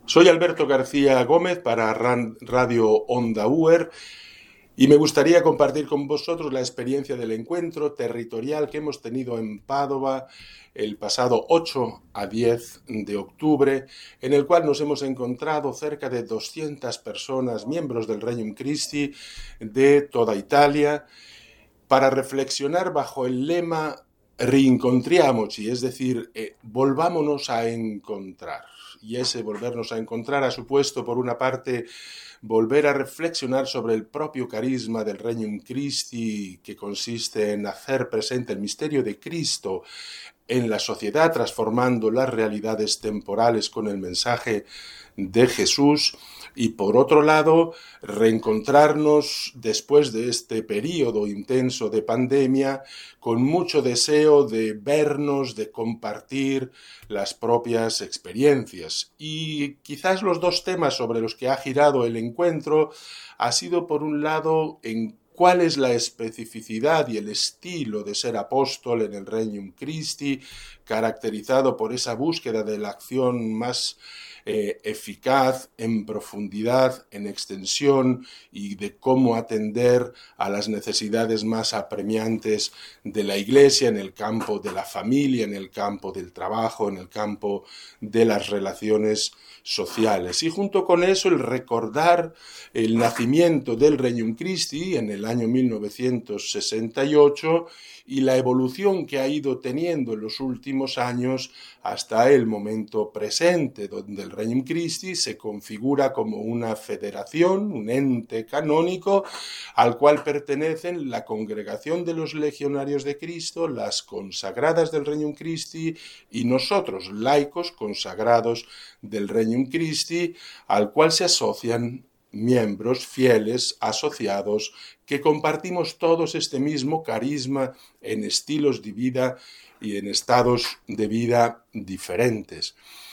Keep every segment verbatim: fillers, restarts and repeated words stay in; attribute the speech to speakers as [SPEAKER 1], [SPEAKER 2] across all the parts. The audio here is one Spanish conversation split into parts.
[SPEAKER 1] Soy Alberto García Gómez para Radio Onda Uer y me gustaría compartir con vosotros la experiencia del encuentro territorial que hemos tenido en Padova el pasado ocho a diez de octubre, en el cual nos hemos encontrado cerca de doscientas personas, miembros del Regnum Christi de toda Italia, para reflexionar bajo el lema Rincontriamoci, es decir, eh, volvámonos a encontrar. Y ese volvernos a encontrar ha supuesto, por una parte, volver a reflexionar sobre el propio carisma del Regnum Christi, que consiste en hacer presente el misterio de Cristo en la sociedad, transformando las realidades temporales con el mensaje de Jesús, y por otro lado, reencontrarnos después de este periodo intenso de pandemia con mucho deseo de vernos, de compartir las propias experiencias. Y quizás los dos temas sobre los que ha girado el encuentro ha sido, por un lado, en cuál es la especificidad y el estilo de ser apóstol en el Regnum Christi, caracterizado por esa búsqueda de la acción más eh, eficaz, en profundidad, en extensión, y de cómo atender a las necesidades más apremiantes de la Iglesia en el campo de la familia, en el campo del trabajo, en el campo de las relaciones sociales. Y junto con eso el recordar el nacimiento del Regnum Christi en el año mil novecientos sesenta y ocho y la evolución que ha ido teniendo en los últimos años hasta el momento presente, donde el Regnum Christi se configura como una federación, un ente canónico al cual pertenecen la Congregación de los Legionarios de Cristo, las consagradas del Regnum Christi y nosotros, laicos consagrados del Regnum Christi, al cual se asocian miembros fieles, asociados, que compartimos todos este mismo carisma en estilos de vida y en estados de vida diferentes.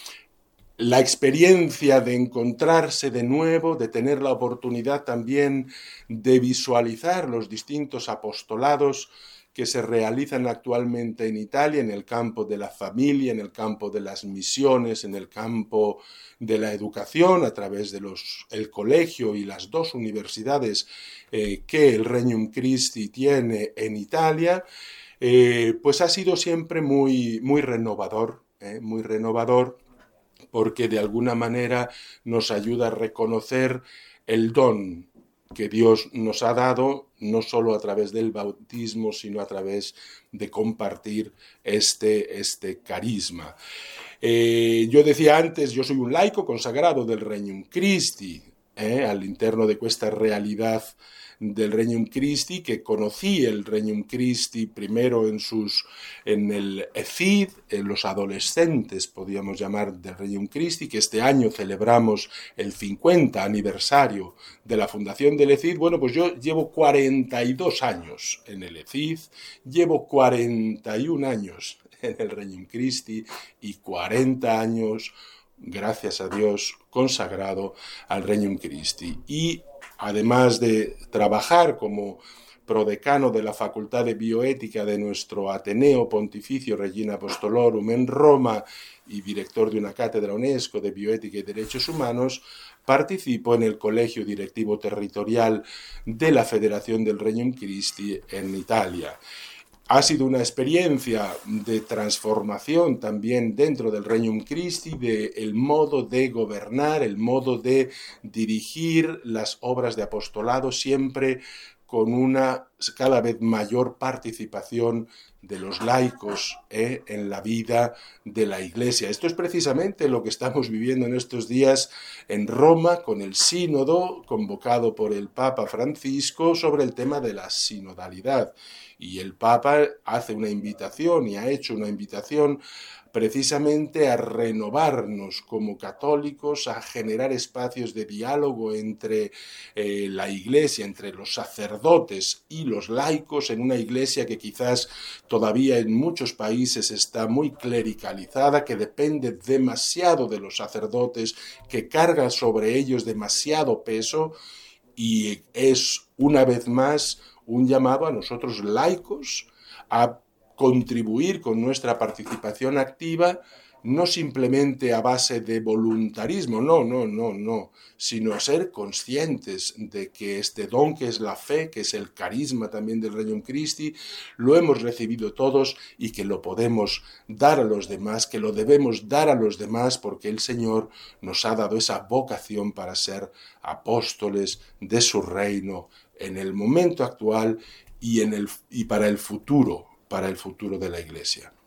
[SPEAKER 1] La experiencia de encontrarse de nuevo, de tener la oportunidad también de visualizar los distintos apostolados que se realizan actualmente en Italia, en el campo de la familia, en el campo de las misiones, en el campo de la educación, a través de los, el colegio y las dos universidades eh, que el Regnum Christi tiene en Italia, eh, pues ha sido siempre muy, muy renovador, eh, muy renovador, porque de alguna manera nos ayuda a reconocer el don que Dios nos ha dado, no solo a través del bautismo, sino a través de compartir este, este carisma. Eh, yo decía antes, yo soy un laico consagrado del Regnum Christi, eh, all'interno de questa realidad del Regnum Christi, que conocí el Regnum Christi primero en, sus, en el E F I D, en los adolescentes, podríamos llamar, del Regnum Christi, que este año celebramos el cincuenta aniversario de la fundación del E F I D. Bueno, pues yo llevo cuarenta y dos años en el E F I D, llevo cuarenta y un años en el Regnum Christi y cuarenta años, gracias a Dios, consagrado al Regnum Christi. Y además de trabajar como prodecano de la Facultad de Bioética de nuestro Ateneo Pontificio Regina Apostolorum en Roma y director de una cátedra UNESCO de Bioética y Derechos Humanos, participo en el Colegio Directivo Territorial de la Federación del Regnum Christi en Italia. Ha sido una experiencia de transformación también dentro del Regnum Christi, del modo de gobernar, el modo de dirigir las obras de apostolado, siempre con una cada vez mayor participación de los laicos eh, en la vida de la Iglesia. Esto es precisamente lo que estamos viviendo en estos días en Roma con el sínodo convocado por el Papa Francisco sobre el tema de la sinodalidad. Y el Papa hace una invitación y ha hecho una invitación precisamente a renovarnos como católicos, a generar espacios de diálogo entre eh, la Iglesia, entre los sacerdotes y los laicos, en una Iglesia que quizás todavía en muchos países está muy clericalizada, que depende demasiado de los sacerdotes, que carga sobre ellos demasiado peso, y es una vez más un llamado a nosotros laicos a contribuir con nuestra participación activa no simplemente a base de voluntarismo, no, no, no, no, sino ser conscientes de que este don que es la fe, que es el carisma también del Regnum Christi, lo hemos recibido todos y que lo podemos dar a los demás, que lo debemos dar a los demás porque el Señor nos ha dado esa vocación para ser apóstoles de su reino en el momento actual y, en el, y para el futuro, para el futuro de la Iglesia.